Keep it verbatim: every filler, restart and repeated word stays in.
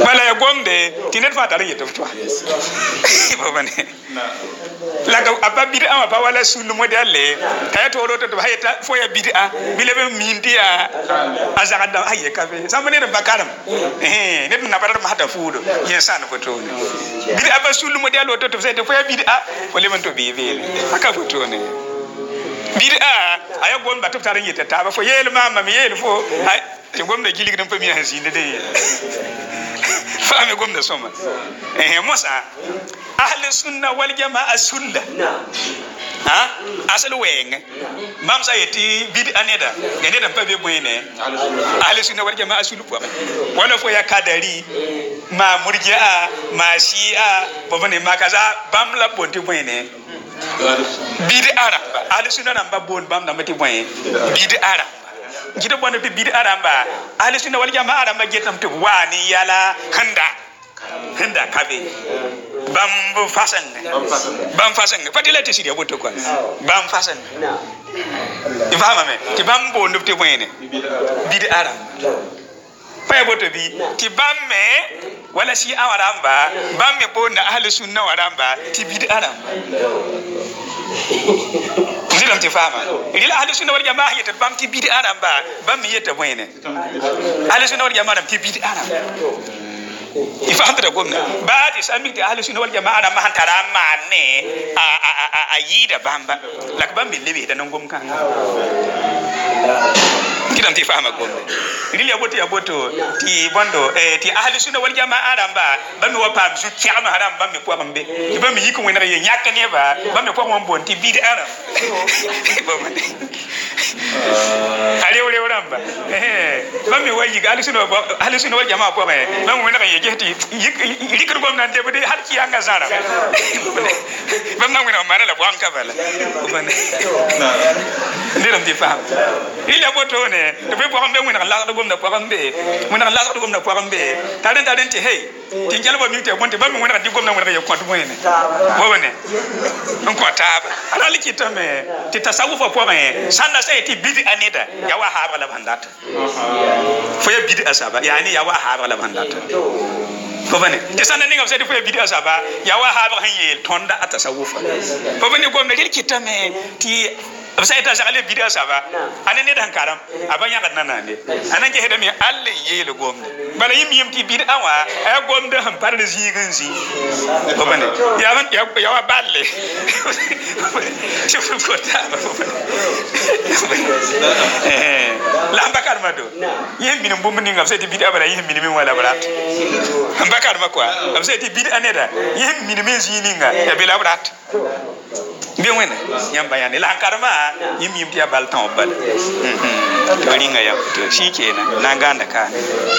bala ya gomde tinet fa tare yeto to babane la ga abba bid'a ma ba wala sulu modelle kaya to do to hayta fo ya bid'a bilebe mindia azaka da haye kabe samane da bakaram eh net na badar mahata fudo yesan foto ne bid'a ba sulu modelle to to sai to fo ya bid'a wala man to bibe aka foto ne bid'a aya gon ba to tare yeta ta ba fo yel mama mi yel fo ti gomna gilig dan fami hasinde de fami gomna soma eh mosa ahli sunna wal jamaa sunna ha asal weng mam sa yeti bid'a neda neda pa be boyne ahli sunna wal jamaa sulu po wala fo ya kadari ma murji'a ma shi'a bobane makaza bam la bonti boyne bid'a ramba ahli sunna namba bon bam na mati boyne bid'a ramba gida bonne bi bid'a ramba ahli sunna wal jamaa ramba getam to wani yala handa handa kabe bam fasan bam fasan fatila te sidia boto kwa bam fasan ifama me ti bam bo ndufte moyene bidi aram pay boto bi ti bam me wala si awaramba bam me bo na ahli sunna waramba ti bidi aram ndilam ti fama ila ahli sunna wal jamaa yeta bam ti bidi aramba bam me yeta moyene ahli sunna wal jamaa ti bidi aram ifaham da gomna ba ti sami ti ahli sunna wal jamaa ma hantara manne a a a a yida bamba lak bambe lebe da ngom kan kidan ti fahama gomna rili aboto ya boto ti bondo eh ti ahli sunna wal jamaa ramba bambe wa pam su tiama haram bambe po bambe ti bambe yiko wena ye nyaka ne ba bambe po mon bon ti bidi aram ale ole oramba eh bambe wa yiga ahli sunna ahli sunna wal jamaa po ba bambe wena ye jeti yikir gom nan de bude har ki anga zara bam nan wena mara la bwan kabala bane ndiram di fam ila boto ne de be bwan be wena la gom na bwan be wena la gom na bwan be talen talen ti hey ti jalba mi te bonte bam wena di gom na wena ye kwatu moyene bobane on ko taba ala likita me ti tasawufa po ba sanna sai ti bidi anida ya wa ha bala bandata fo ya bidi asaba yani ya wa ha bala bandata bobane te sanna ninga sai fo ya bidi asaba ya wa ha ba hanye tonda atasawufa bobane gomna likita me ti sai ta shagale bidi asaba anan ne dan karam abanya kadna nande anan ke heda me alle yele gomna bala yim yim ti bidi awa ay gomda ham par de zigin zi bobane ya ban ya wa balle chef ko ta eh la bakar mado yim bin bum ni ngam sai ti bidi abara yim bin min wala barat bakar makwa am sai ti bidi aneda yim min min zi ni nga ya bela barat bien wena nyam bayane la karma yim yim ti abal tan bal to ringa ya to shikenan na ganda ka